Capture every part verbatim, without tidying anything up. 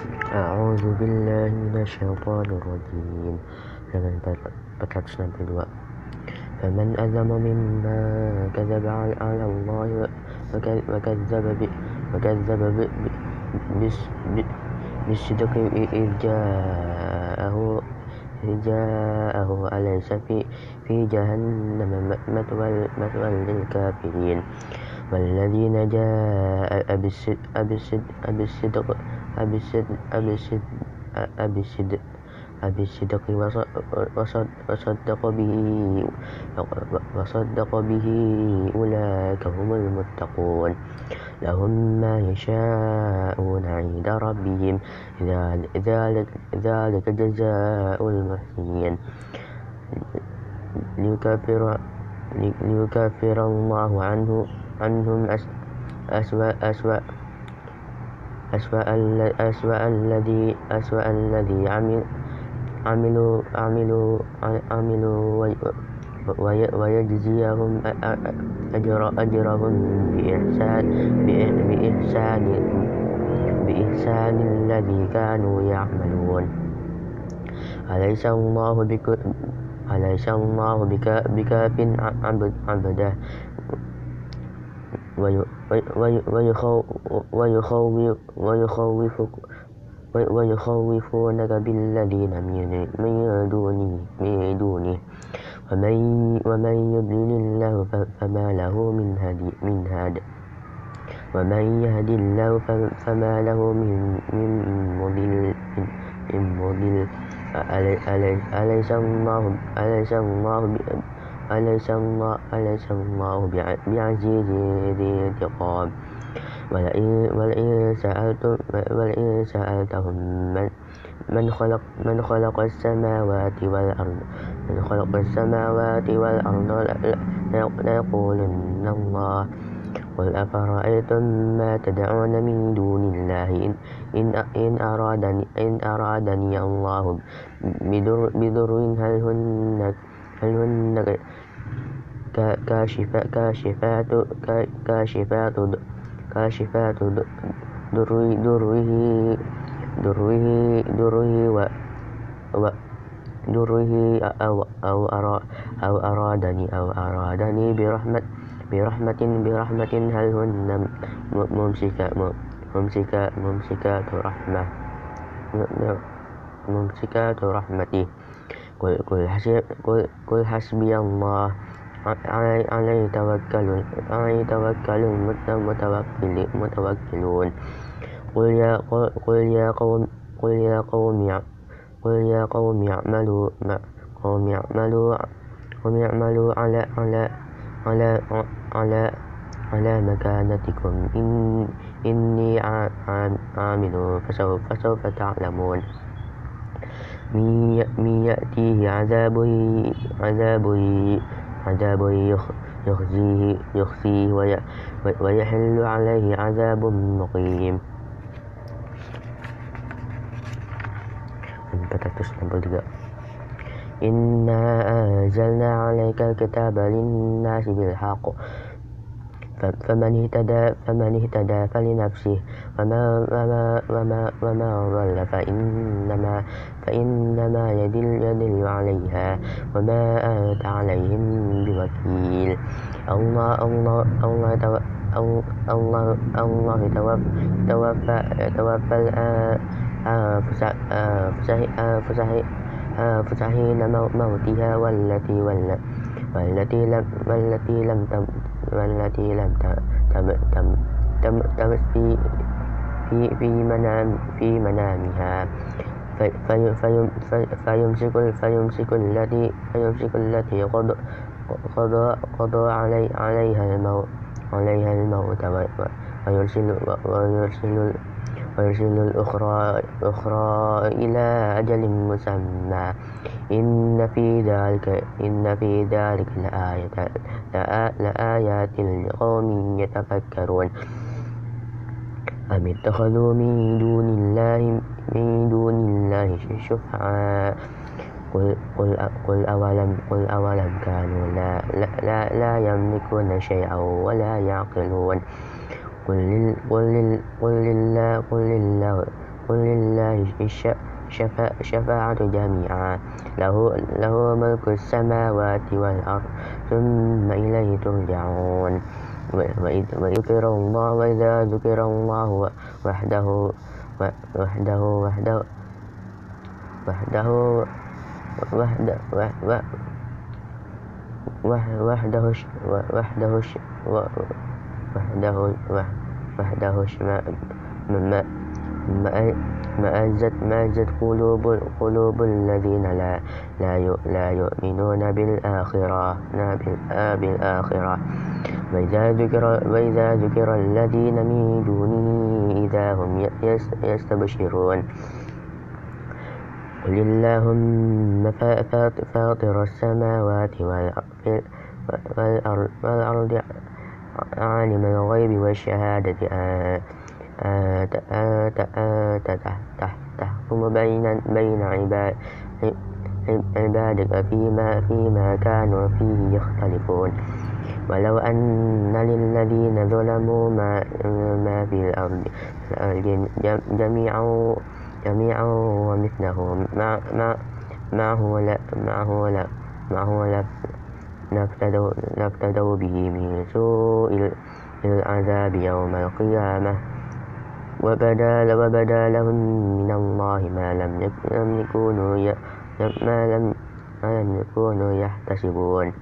أعوذ بالله من الشيطان الرجيم. Halaman empat ratus enam puluh dua. فمن أظلم ممن كذب على الله وكذب وكذب بالصدق إذ جاءه إذ جاءه أليس في في جهنم مثوى للكافرين والذين جاء بالصدق بالصدق وصدق به وصدق به أولئك هم المتقون لهم ما يشاءون عند ربهم ذلك ذلك جزاء المحسنين ليكفر ليكفر الله عنه عنهم أسوأ أسوأ أسوأ أسوأ الذي أسوأ الذي عمل عملوا عملوا عملوا ويجزيهم أجر أجرهم بإحسان بإحسان بإحسان الذي كانوا يعملون أليس الله بك أليس الله بكاف عبده ويخوفونك بالذين من دونه ومن يضلل الله فما له من هاد ومن يهد الله فما له من مضل أليس الله أليس الله أليس الله أليس الله بعزيز ذي انتقام ولئن سألتم ولئن سألتهم من من خلق من خلق السماوات والأرض من خلق السماوات والأرض ليقولن الله قل أفرأيتم ما تدعون من دون الله إن إن أرادني إن أرادني الله بضر هل هن هل هن كاشفات كاشفات كاشفات كاشفات دره دره دره دره و دره أو أو أرا أو أرادني أو أرادني برحمة برحمة برحمة هل هن ممسكة ممسكة ممسكات رحمة ممسكات رحمتي قل قل حسب قل قل حسبي الله عليه توكل عليه توكل المتوكلون قل يا قل يا قوم قل يا قوم قل يا قوم اعملوا قوم اعملوا قوم اعملوا على على على على على مكانتكم إن إني عامل فسوف فسوف تعلمون من يأتيه عذاب عذاب عذاب يخزيه يخزيه ويحل عليه عذاب مقيم. empat ratus enam puluh tiga. Inna anzalna alaika al-kitaba lin-nasi bil-haqq faman ihtada faman ihtada falinafsihi wama wama wama wama dhalla fa innama fa innama yadillu yadillu 'alaiha wama anta 'alaihim biwakil. Allah Allah Allah Allah Allah tawaffa tawaffal fusahi فسحين موتها والتي والتي لم والتي لم تم والتي لم تم تم تم تمس في في في منام في منامها فيمسك فيمسك التي فيمسك التي قضى قضى قضى علي عليها الموت عليها الموت ويرسل ويرسل ويرسل الأخرى أخرى إلى أجل مسمى إن في ذلك إن في ذلك لآية لآيات لقوم يتفكرون أم اتخذوا من دون الله من دون الله شفعاء قل قل قل أولم قل أولم كانوا لا لا لا يملكون شيئا ولا يعقلون قل قل قل لله قل لله قل لله الشفاعة جميعا له, له ملك السماوات والأرض ثم إليه ترجعون وإذا ذكر الله وإذا ذكر الله وحده وحده وحده وحده وحده وحده وحده وحده وحده مأزت قلوب قلوب الذين لا لا لا يؤمنون بالآخرة بالآخرة وإذا ذكر وإذا ذكر الذين من دونه إذا هم يستبشرون قل اللهم فاطر السماوات والأرض عالم الغيب والشهادة تحكم بين بين عبادك فيما فيما كانوا فيه يختلفون ولو أن للذين ظلموا ما ما في الأرض جميعا جميعا ومثله معه معه معه لافتدوا به من سوء العذاب يوم القيامة وبدا وبدا لهم من الله ما لم يكونوا ما لم ما لم يكونوا يحتسبون.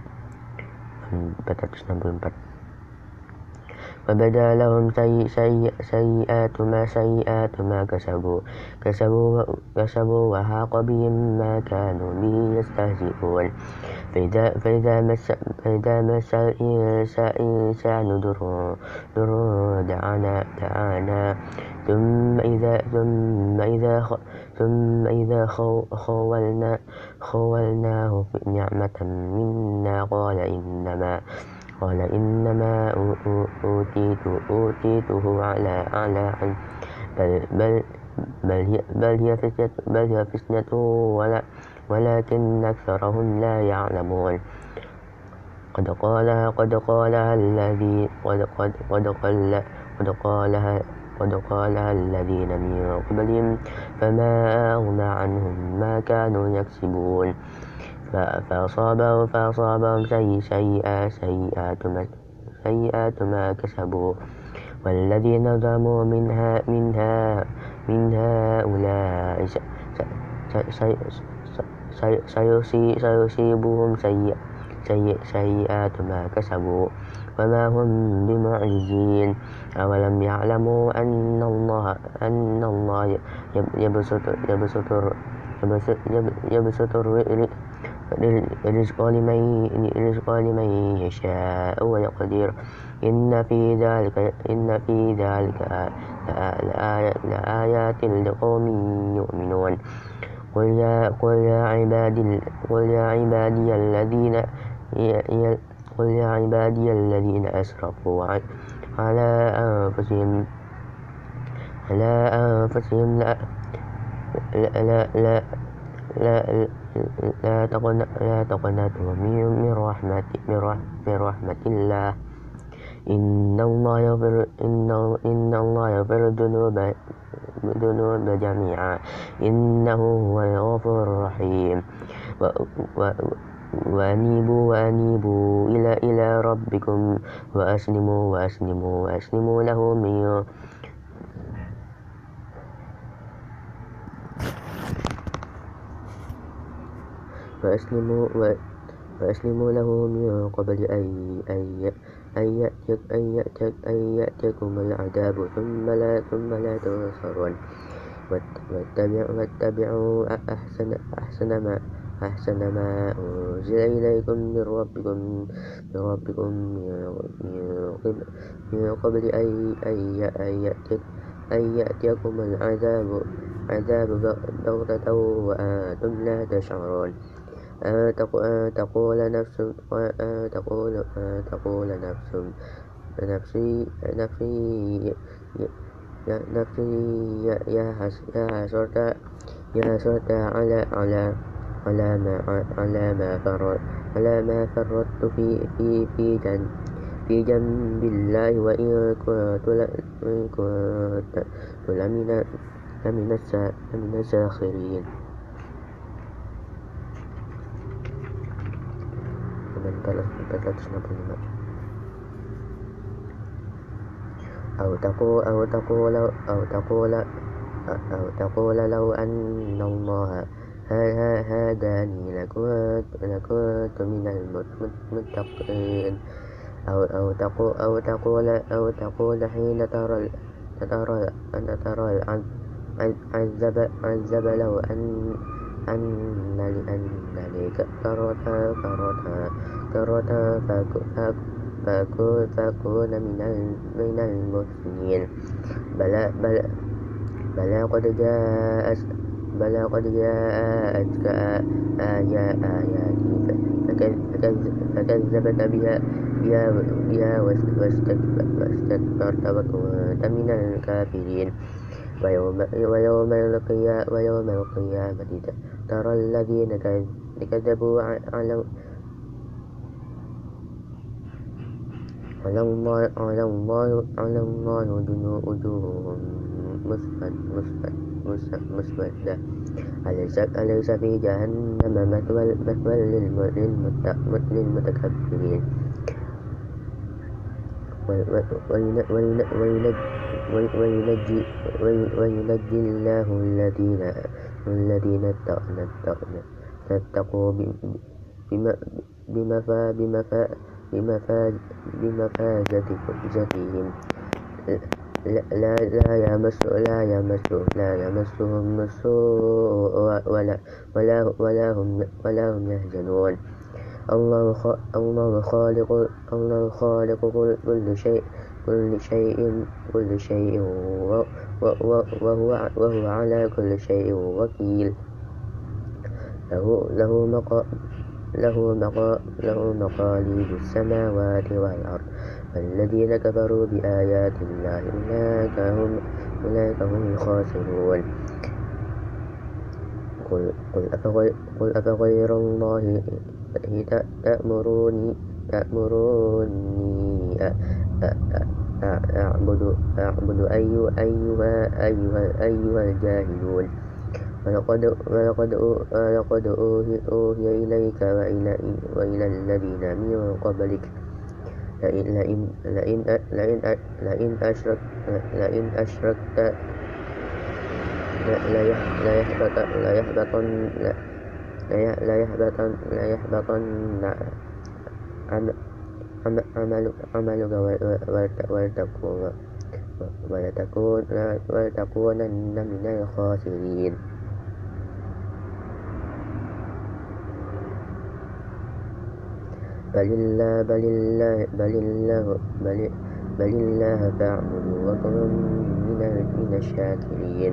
وبدا لهم سيئات ما سيئات ما كسبوا كسبوا كسبوا وحاق بهم ما كانوا به يستهزئون. فإذا فإذا مس فإذا مس الإنسان ضر ضر دعانا دعانا ثم إذا ثم إذا ثم إذا خولنا خولناه نعمة منا قال إنما قال إنما أوتيته أوتيته على على بل بل بل هي بل هي فتنة بل هي فتنة ولا ولكن أكثرهم لا يعلمون. قد قالها قد قالها الذي قد قد قد قال قد قالها قد قالها الذين من قبلهم فما أغنى عنهم ما كانوا يكسبون. فأصابهم فأصابهم سيئات سيئات ما سيئات ما كسبوا والذين ظلموا منها منها من هؤلاء سيصيبهم سيئات ما كسبوا وما هم بمعجزين. أولم يعلموا أن الله أن الله يبسط يبسط يبسط الرزق لمن يشاء ويقدر إن في ذلك إن في ذلك لآيات لقوم يؤمنون. قل يا قل يا عبادي قل يا عبادي الذين قل يا عبادي الذين أسرفوا على أنفسهم على أنفسهم لا لا لا لا لا تقنطوا من رحمة من رحمة الله إن الله يغفر إن إن الله يغفر الذنوب الذنوب جميعا إنه هو الغفور الرحيم. وأنيبوا وأنيبوا إلى إلى ربكم وأسلموا وأسلموا وأسلموا له من وأسلموا وأسلموا له من قبل أن أن أن يأتيكم العذاب ثم لا ثم لا تنصرون. واتبعوا أحسن أحسن ما أحسن ما أنزل إليكم من ربكم من ربكم من قبل أن أن يأتيكم العذاب عذاب بغتة وأنتم لا تشعرون. أن تقول نفس تقول تقول نفس نفسي نفسي نفسي يا حسرة يا حسرة على على على ما على ما فرط على ما فرطت في في في جن في جنب الله وإن كنت كنت لمن لمن السا- لمن الساخرين. empat ratus enam puluh lima. أو تقول أو تقول أو تقول أو تقول لو أن الله ها- هداني لكنت لكنت من المتقين. أو أو تقول أو تقول أو تقول حين ترى ترى أن ترى العذاب عذاب لو أن أن لي أن لي كرة كرة كرة فأكون فأكون من من المحسنين. بلى بلى بلى قد جاءت بلى قد جاءتك آيات آياتي فكذبت بها بها بها واستكبرت وكنت من الكافرين. ويوم ويوم القيامة ويوم القيامة ترى الذين كذبوا على على الله على الله على الله وجوههم مسودة. أليس أليس في جهنم مثوى مثوى للمتكبرين. وينجي وينجي الله الذين الذين اتقوا بمفازتهم لا لا يمس لا يمس لا يمسهم السوء ولا ولا ولا هم ولا هم يحزنون. الله الله خالق الله خالق كل شيء كل شيء كل شيء وهو وهو على كل شيء وكيل. له له مقا له مقا له مقاليد السماوات والأرض. فالذين كفروا بآيات الله أولئك هم أولئك هم الخاسرون. قل قل أفغير قل أفغير الله تأمروني تأمروني أعبد أعبد أيها أيها أيها أيها الجاهلون. ولقد ولقد ولقد أوحي إليك وإلى وإلى الذين من قبلك لئن لئن لئن لئن لئن أشرك لئن أشركت ليحبطن ليحبطن ليحبطن عملك ولتكون ولتكونن من الخاسرين. بل الله بل الله بل الله بل بل الله فاعبد وكن من من الشاكرين.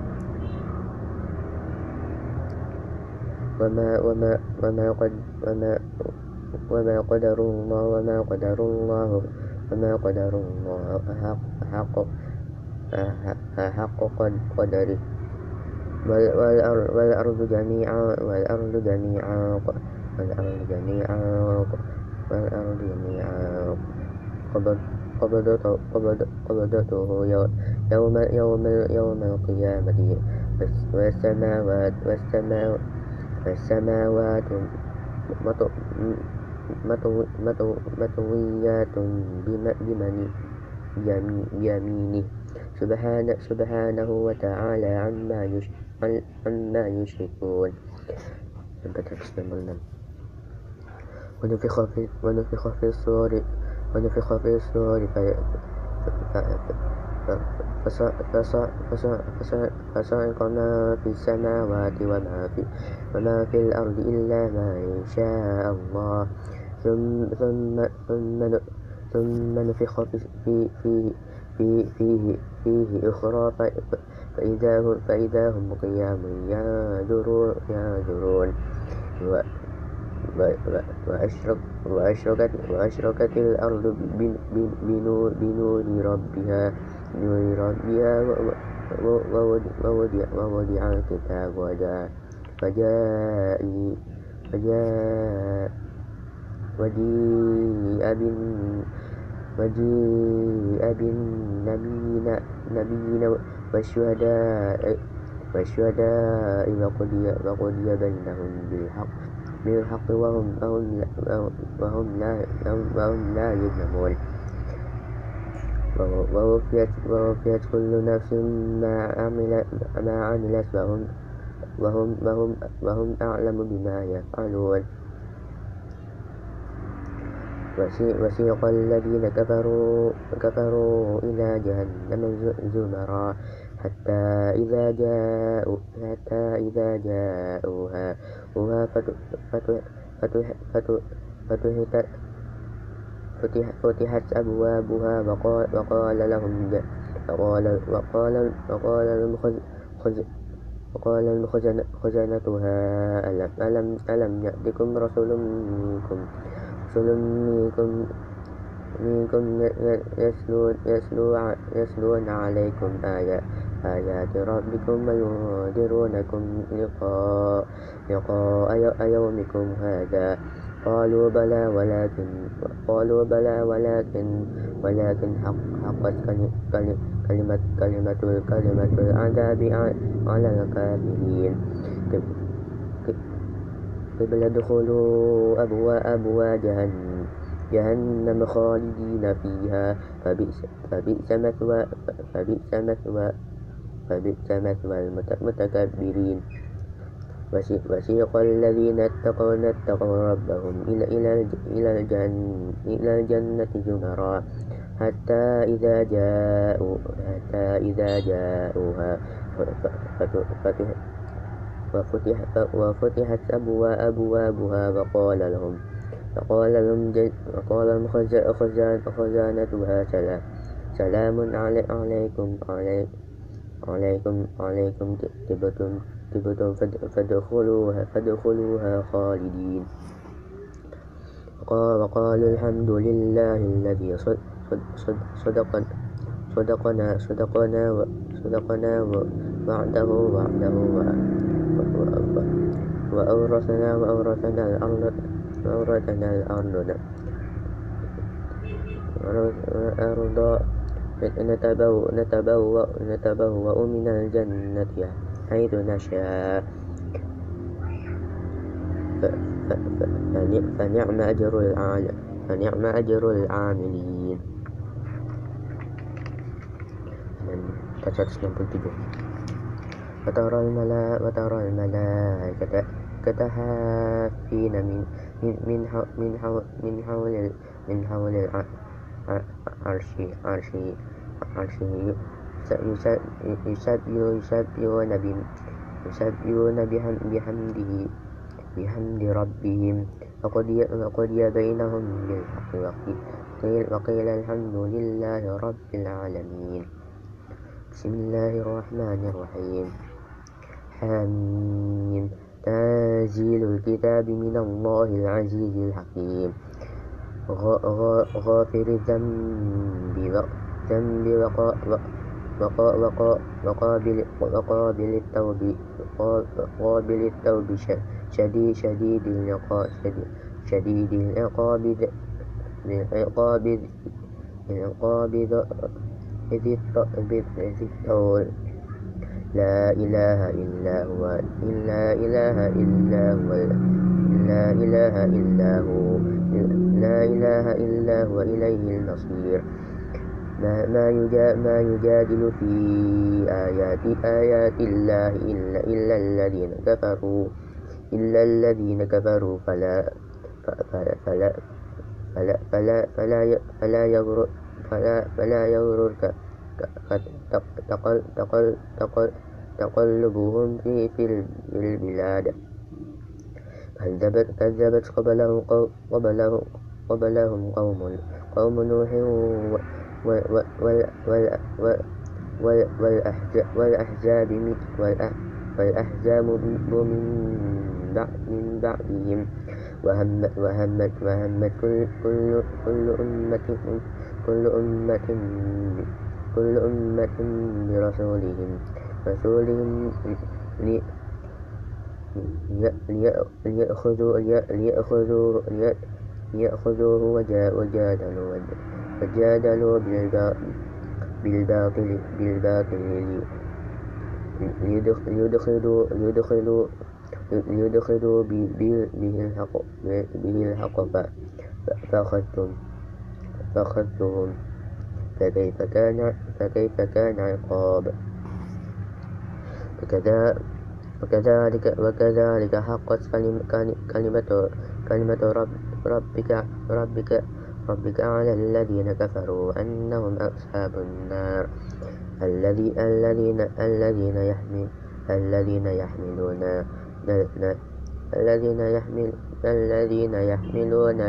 وما وما وما قد وما وما قدر الله وما قدر الله وما قدر الله حق حق قدره. والأرض جميعا والأرض جميعا والأرض جميعا والأرض جميعا قبضته قبضته يوم يوم يوم القيامة. والسماوات والسماوات والسماوات مطويات بيمينه سبحانه سبحانه وتعالى عما عما يشركون. ونفخ في ونفخ في الصور ونفخ في الصور فصعق ما في السماوات وما في وما في الأرض إلا ما شاء الله. ثم ثم ثم ثم نفخ في في في فيه فيه أخرى فإذا هم فإذا هم قيام ينظرون ينظرون وأشرق وأشرقت وأشرقت الأرض بنور بنور ربها بنور ربها ووضع ووضع الكتاب وجاء وجاء وجاء وجيء بالنبيين نبيين نبيين والشهداء والشهداء وقضي وقضي بينهم بالحق بالحق وهم وهم وهم لا وهم لا يظلمون ووفيت ووفيت كل نفس ما عملت ما عملت وهم وهم وهم وهم أعلم بما يفعلون وسيق الذين كفروا كفروا إلى جهنم زمرا حتى إذا جاءوا حتى إذا جاءوها فتحت فتحت أبوابها وقال لهم وقال وقال وقال لهم وقال لهم خزنتها ألم ألم يأتكم رسول منكم رسل منكم منكم يتلون عليكم آيات آيات ربكم وينذرونكم لقاء لقاء يومكم هذا قالوا بلى ولكن قالوا بلى ولكن ولكن حقت كلمة كلمة كلمة العذاب على الكافرين قبل ادخلوا أبواب جهنم خالدين فيها فبئس فبئس مثوى فبئس مثوى فبئس مثوى المتكبرين وسيق الذين اتقوا اتقوا ربهم إلى إلى إلى الجنة إلى الجنة زمرا حتى إذا جاءوا حتى إذا جاءوها وفتحت أبوابها وقال لهم وقال لهم وقال لهم خزانتها سلام عليكم عليكم عليكم طبتم طبتم فادخلوها فادخلوها خالدين وقالوا الحمد لله الذي صدقنا صدقنا صدقنا صدقنا وعده وعده وأورثنا وأورثنا الأرض وأورثنا الأرض الأرض نتبوأ نتبوأ نتبوأ من الجنة حيث نشاء فنعم أجر العاملين فنعم أجر العاملين. seratus enam puluh tujuh وترى الملائكة وترى الملائكة كتهافين من من من من حول من حول من حول العرش عرش عرش يسبحون يسبحون بحمده بحمد ربهم وقضي بينهم بالحق وقيل الحمد لله رب العالمين. بسم الله الرحمن الرحيم. حميم تنزيل الكتاب من الله العزيز الحكيم. غافر الذنب وقابل وقابل التوب قابل التوب شديد شديد العقاب شديد العقاب العقاب العقاب إذ الطول لا إله إلا هو لا إله إلا هو لا إله إلا هو لا إله إلا هو إليه المصير. ما ما ما يجادل في آيات آيات الله إلا إلا الذين كفروا إلا الذين كفروا فلا فلا فلا فلا فلا فلا فلا يغرر فلا فلا يغررك تقلبهم في في البلاد. كذبت كذبت قبلهم قبلهم قبلهم قوم قوم نوح والأحزاب والأحزاب من بعدهم وهمت وهمت وهمت كل كل كل أمة كل أمة كل أمة برسولهم رسولهم ليأخذوه ليأخذوه ليأخذوه وجادلوا وجادلوا بالباطل بالباطل ليدخلوا ليدخلوا ليدخلوا به الحق به الحق فأخذتهم فأخذتهم فكيف كان فكيف كان عقاب وكذلك وكذلك حقت كلمة كلمة رب ربك ربك ربك على الذين كفروا أنهم أصحاب النار الذي الذين الذين يحمل الذين يحملون الذين يحمل الذين يحملون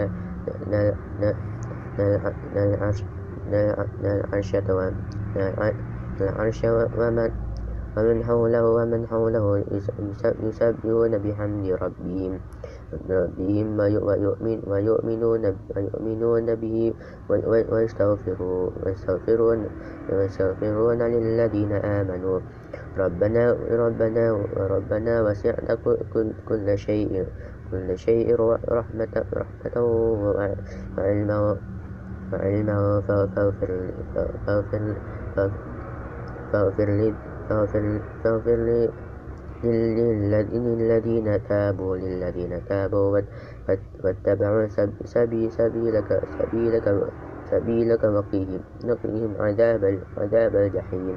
العرش ومن ومن حوله ومن حوله يسبحون بحمد ربهم ربهم ويؤمن ويؤمنون ويؤمنون به ويستغفرون ويستغفرون ويستغفرون للذين آمنوا ربنا ربنا ربنا وسعت كل شيء كل شيء رحمة رحمة وعلما وعلما فاغفر فاغفر فاغفر لي فاغفر فاغفر للذين تابوا للذين تابوا واتبعوا سبيلك سبيلك سبيلك وقيهم وقيهم عذاب عذاب الجحيم.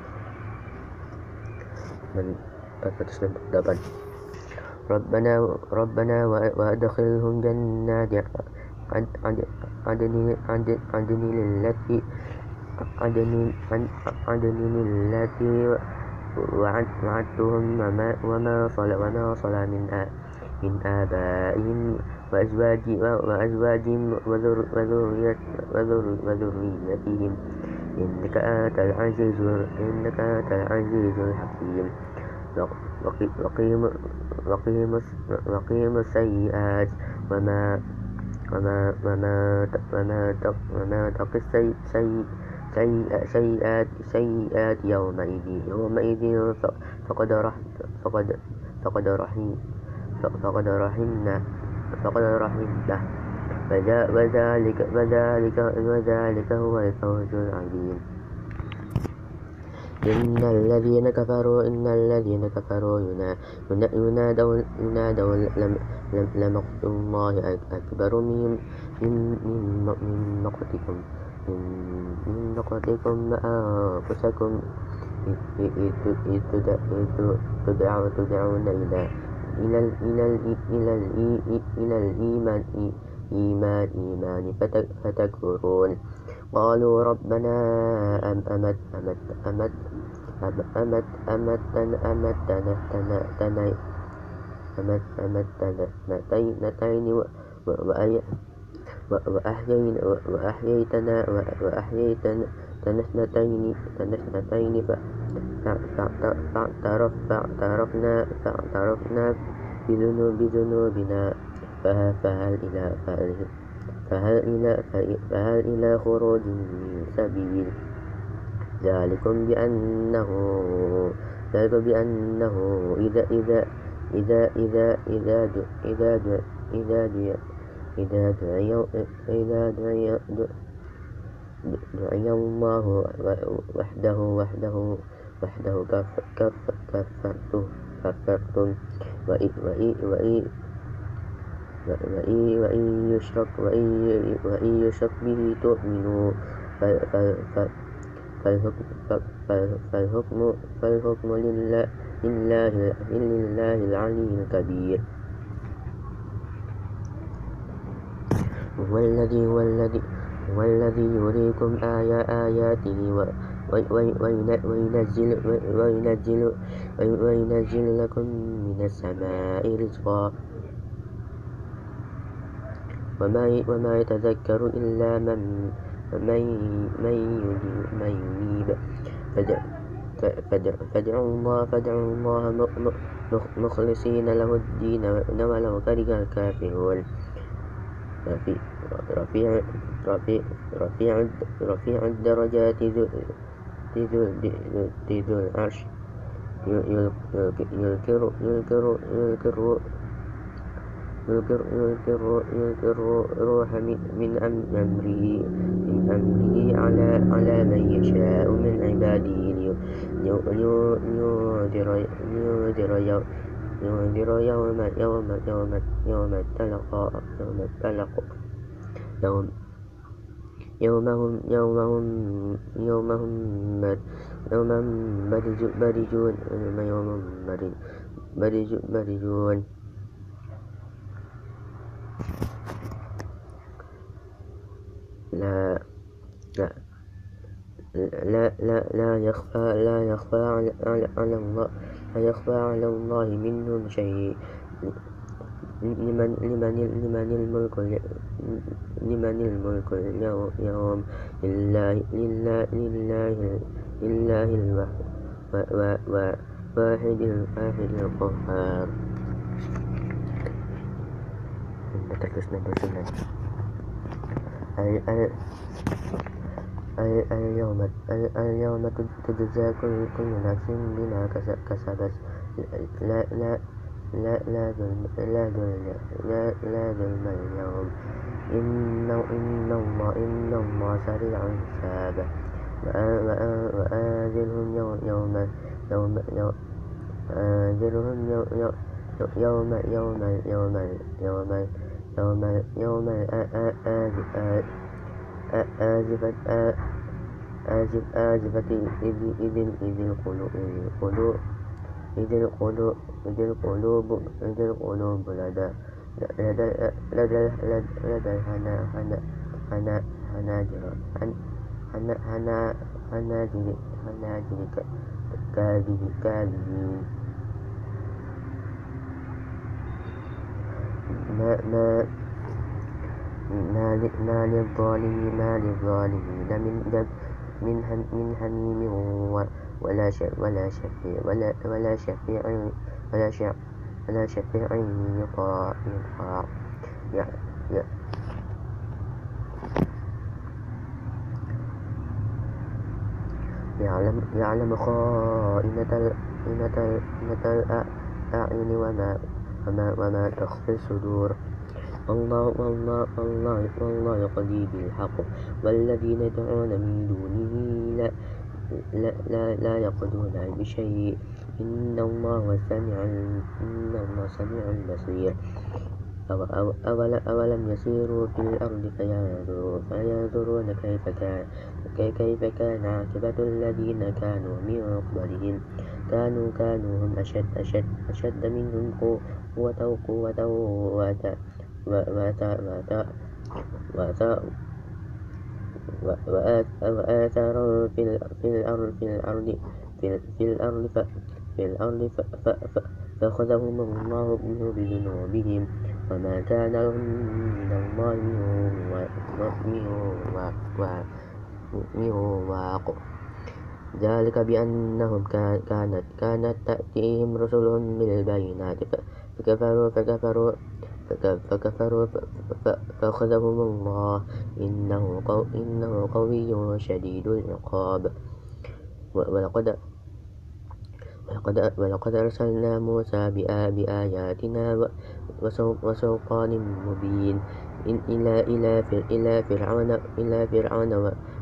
من ربنا ربنا وادخلهم جنات عدن عدن التي عدن عدن التي وعدتهم وما وما صلى وما صلى من من آبائهم وأزواجهم وذريتهم إنك أنت العزيز إنك أنت العزيز الحكيم. وقيم السيئات وما وما وما وما وما تقي سيئات سيئات يومئذ يومئذ فقد رحم فقد فقد رحم فقد رحمنا فقد رحمته وذلك وذلك وذلك هو الفوز العظيم. إن الذين كفروا إن الذين كفروا ينادون ينادون لمقت الله أكبر من من مقتكم من مقتكم أنفسكم إذ تدعون إلى إلى إلى إلى إلى الإيمان إيمان إيمان فتكفرون. قالوا ربنا أمت أمت أمت أمت أمتنا أمتنا تني أمت أمتنا نتين وأحيينا وأحييتنا وأحييتنا تنسنتين تنسنتين فاعترفنا فاعترفنا بذنوبنا فهل إلى فهل إلى فهل إلى خروج من سبيل. ذلكم بأنه ذلك بأنه إذا إذا إذا إذا إذا إذا إذا إذا دعي إذا دعي دعي الله وحده وحده وحده كفرتم كفرتم وإن وإن يشرك وإن يشرك به تؤمنوا فالحكم فالحكم لله لله لله العلي الكبير. هو الذي هو الذي هو الذي يريكم آياته وينزل وينزل وينزل لكم من السماء رزقا وما وما يتذكر إلا من من من ينيب. فادعوا الله فادعوا الله مخلصين له الدين ولو كره الكافرون. رفيع رفيع رفيع رفيع الدرجات ذو ذو العرش يذكر يذكر يذكر يلقي يلقي الرو- يلقي الرو- الروح من من أم- أمره من أمره على على من يشاء من عباده لي- لي- لي- لينذر لينذر يوم لينذر يوم يوم يوم يوم التلق يوم التلق يوم يومهم يومهم يومهم مر- يومهم برج- برجون يومهم برج- برج- برجون لا لا لا لا لا يخفى لا يخفى على, على, على الله لا يخفى على الله منهم شيء لمن لمن لمن الملك ال- لمن الملك اليوم يوم لله لله لله لله الواحد واحد الواحد القهار. Terus nomor sembilan. اليوم اليوم تجزى كل كل نفس بما كسبت لا لا لا لا ظلم لا ظلم لا لا ظلم اليوم إن إن الله إن الله سريع الحساب وآذرهم يوم يوم يوم آذرهم يوم يوم يوم يوم يوم يوم يوم آزفت آزف آزفت إذ إذ إذ القلوب إذ القلوب إذ القلوب إذ القلوب لدى لدى لدى لدى الحنا حنا حنا حناجر حنا حنا حناجر حناجر كاذب كاذبين ما ما ما للظالمين ما للظالمين من من من حميم ولا ولا شفيع ولا ولا شفيع ولا شفيع ولا شفيع يطاع يطاع يعلم يعلم خائنة الأعين وما وما وما تخفي الصدور الله والله والله والله يقضي بالحق والذين يدعون من دونه لا لا لا, لا يقضون بشيء إن الله سميع إن الله سميع بصير أولم يسيروا في الأرض فينظروا فينظرون كيف كان كيف كان عاقبة الذين كانوا من قبلهم كانوا كانوا هم أشد أشد أشد منهم قوة قوة وآثاروا في الأرض في الأرض في الأرض في الأرض فأخذهم الله بذنوبهم وما كان لهم من الله من واق ذلك بأنهم كانت كانت تأتيهم رسلهم بالبينات فكفروا فكفروا فكفروا فأخذهم الله إنه إنه قوي شديد العقاب ولقد ولقد ولقد أرسلنا موسى بآياتنا وسلطان مبين إلى إلى إلى فرعون إلى فرعون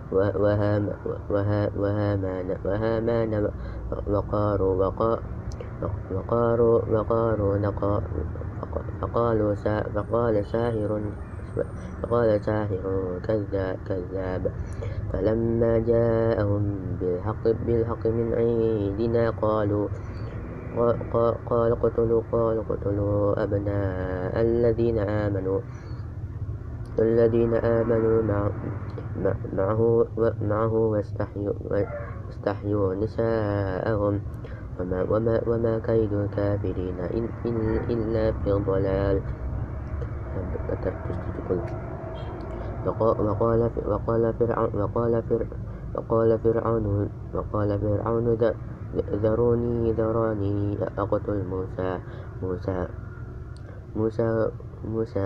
وهامان وهامان وقارون وقارون وقارون فقالوا فقال ساحر فقال ساحر كذاب فلما جاءهم بالحق بالحق من عندنا قالوا قال اقتلوا قال اقتلوا أبناء الذين آمنوا الذين آمنوا معه معه واستحيوا نساءهم وما, وما, وما كيد الكافرين إلا في ضلال. وقال وقال فرعون وقال وقال فرعون وقال فرعون ذروني ذروني أقتل موسى موسى موسى موسى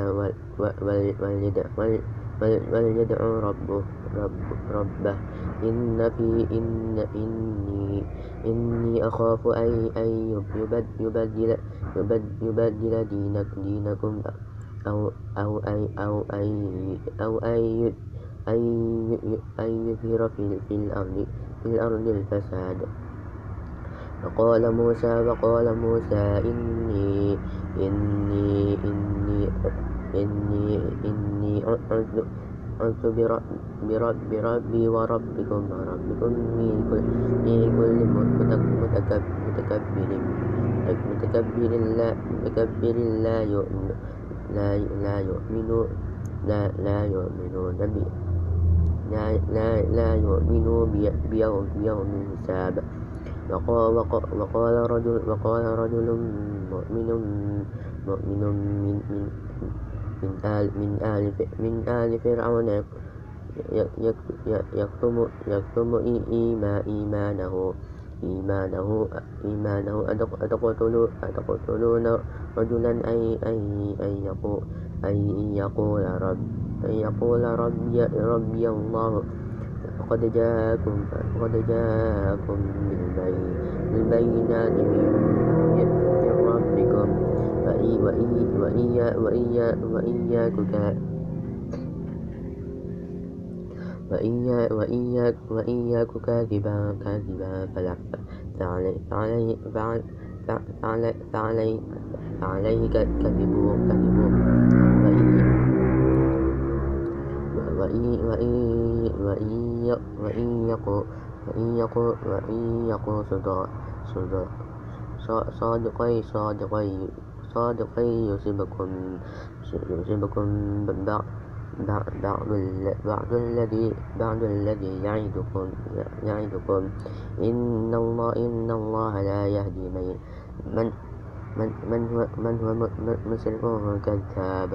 وليدعو ربه رب ربه إن في إن إني إني أخاف أن أن يبدل يبدل دينك دينكم أو أو أي أو أي أو أي أي أي يظهر في في الأرض في الأرض الفساد. وقال موسى وقال موسى إني إني إني إني إني عذت برب بربي وربكم وربكم من كل متكبر متكبر لا متكبر لا يؤمن لا لا يؤمن لا لا يؤمنون بي لا لا لا يؤمنون بيوم بيوم الحساب. وقال وقال رجل وقال رجل مؤمن مؤمن من من من آل من آل من آل فرعون يكتم يكتم إيمانه إيمانه إيمانه أتقتلون أتقتلون رجلا أي أي أن يقول أن يقول رب أن يقول ربي ربي الله فقد جاءكم فقد جاءكم بالبينات من ربكم وإياك كاذبا كاذبا فعليه كذبوا كذبوا وإن يقوا صادقي صادقي صادقي يصيبكم يصيبكم بعض الذي بعض الذي يعدكم يعدكم إن الله إن الله لا يهدي من من من هو من هو مسرف كذاب.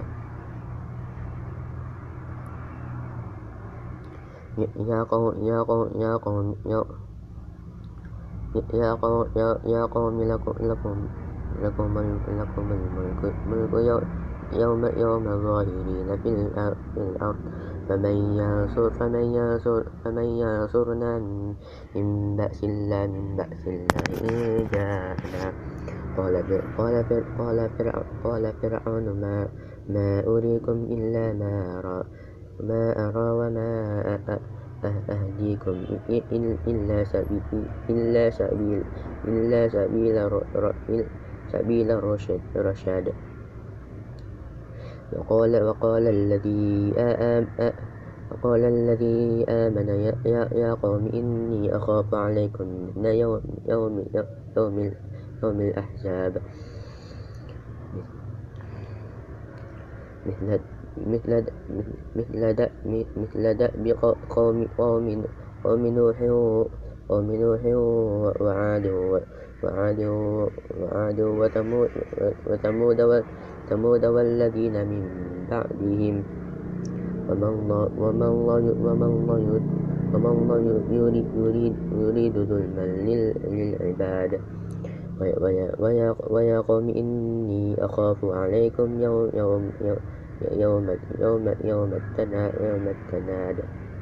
يا قوم يا قوم يا قوم يا قوم يا قوم لكم لكم لكم لكم الملك ملك يوم يوم ظاهرين في الأرض فمن ينصر فمن ينصر فمن ينصرنا من بأس الله من بأس الله إن جاءنا. قال قال قال فرعون ما ما أريكم إلا ما أرى ما أرى وما أهديكم إلا سبيل إلا سبيل إلا سبيل سبيل الرشاد. وقال وقال الذي وقال الذي آمن يا يا قوم إني أخاف عليكم مثل يوم يوم يوم يوم الأحزاب مثل مثل مثل دأب مثل دأب قوم قوم قوم نوح قوم نوح وعاد وعاد وعاد وثمود وثمود وثمود والذين من بعدهم وما الله وما الله وما الله وما الله يريد يريد يريد ظلما للعباد. ويا قوم إني أخاف عليكم يوم يوم يوم يوم يوم التناد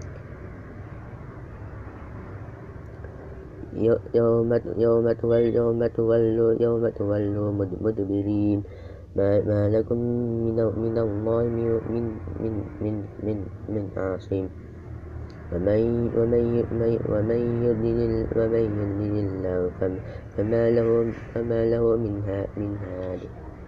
يوم يوم تولوا يوم تولوا يوم تولوا مدبرين ما, ما لكم من من الله من من من من من عاصم. ومن ومن ومن يضلل ومن يضلل الله فما له فما له من من هاد.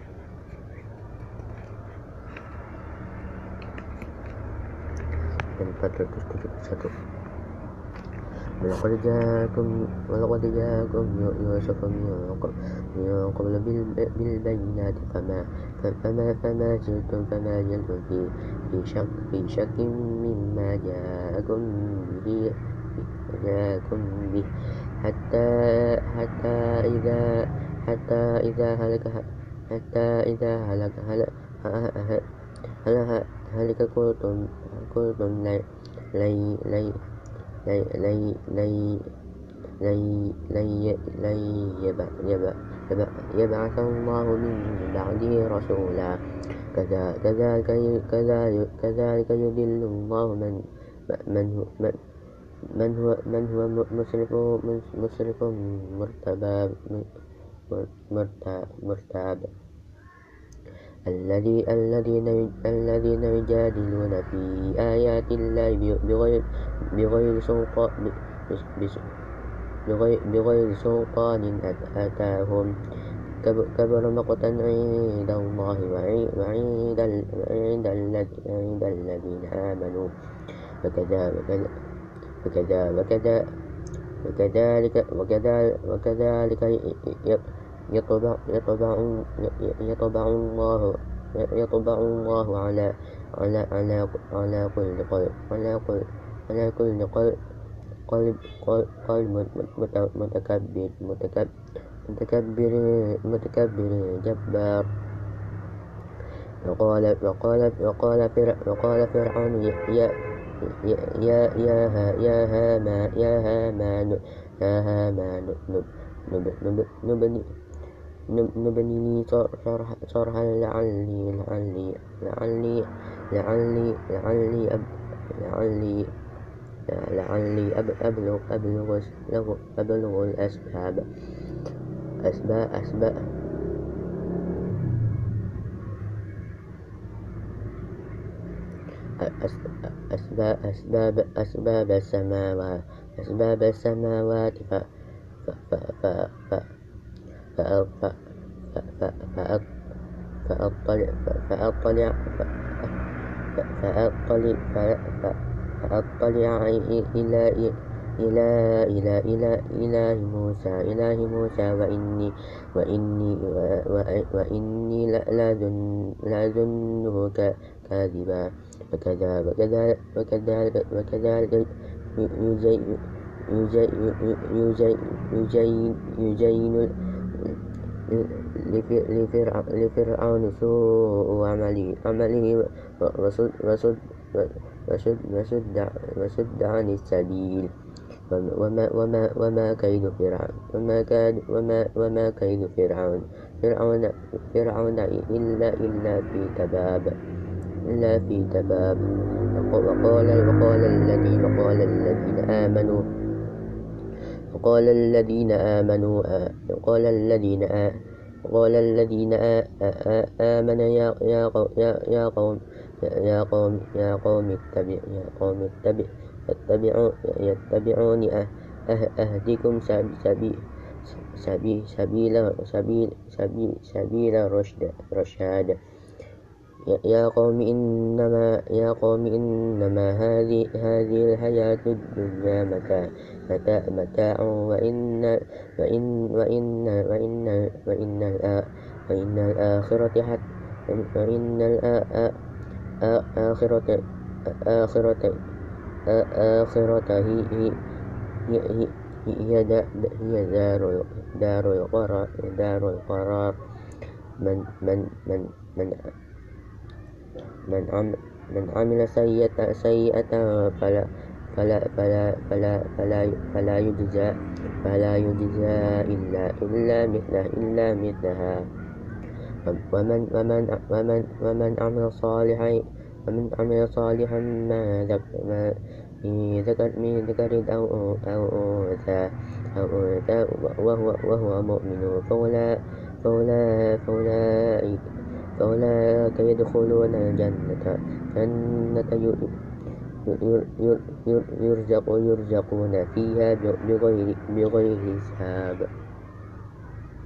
ولقد جاءكم ولقد جاءكم يوسف من قبل بالبينات فما فما فما زلتم فما زلتم في في شك في شك مما جاءكم به جاءكم به حتى حتى إذا حتى إذا هلك حتى إذا هلك هلك هلك قلتم قلتم لي لي لي لي لي لي لي لي لي يبعث الله من بعده رسولا كذلك كذلك يضل الله من من هو من هو من هو مسرف مسرف مرتاب مرتاب الذي الذين الذين يجادلون في آيات الله بغير بغير سلطان بغير, بغير سلطان أتاهم كبر مقتا عند الله وعند وعند الذين آمنوا وكذلك وكذلك وكذلك وكذلك يطبع يطبع يطبع الله يطبع الله على على على على كل قلب على كل على كل قلب قلب قلب متكبر متكبر متكبر متكبر جبار. وقال وقال وقال وقال فرعون يا يا يا يا يا هامان يا هامان يا هامان نبني نبني صرحا لعلي لعلي لعلي لعلي لعلي لعلي لعلي أبلغ أبلغ أبلغ الأسباب أسباب أسباب أسباب أسباب أسباب السماوات أسباب السماوات ف ف ف ف فأطلع فأطلع فأطلع فأطلع إلى إلى إلى إلى إله موسى إله موسى وإني وإني وإني لأظنه كاذبا. وكذلك وكذلك وكذلك يزين لفرعون سوء عمله وصد وصد عن السبيل وما وما وما كيد فرعون وما كيد وما وما كيد فرعون فرعون فرعون إلا إلا في تباب إلا في تباب. وقال وقال الذين وقال الذين آمنوا وقال الذين آمنوا وقال الذين وقال الذين آمنوا يا يا يا قوم يا قوم يا قوم اتبع يا قوم اتبع اتبعوا يتبعوني أهدكم سبيل سبيل سبيل سبيل سبيل سبيل رشد رشاد. يا قوم إنما يا قوم إنما هذه هذه الحياة الدنيا متاع متاع متاع وإن وإن وإن وإن وإن وإن الآخرة حتى وإن الآخرة آخرة آخرة هي هي هي هي دار دار القرار دار القرار. من من من من من عمل من عمل سيئة سيئة فلا فلا فلا فلا فلا فلا يجزى فلا يجزى إلا إلا مثله إلا مثلها. ومن ومن ومن ومن عمل صالحا ومن عمل صالحا ما ذكر من ذكر أو أو أنثى أو أنثى وهو وهو مؤمن فأولئك فأولئك فأولئك يدخلون الجنة جنة يرزق يرزقون فيها بغير بغير حساب.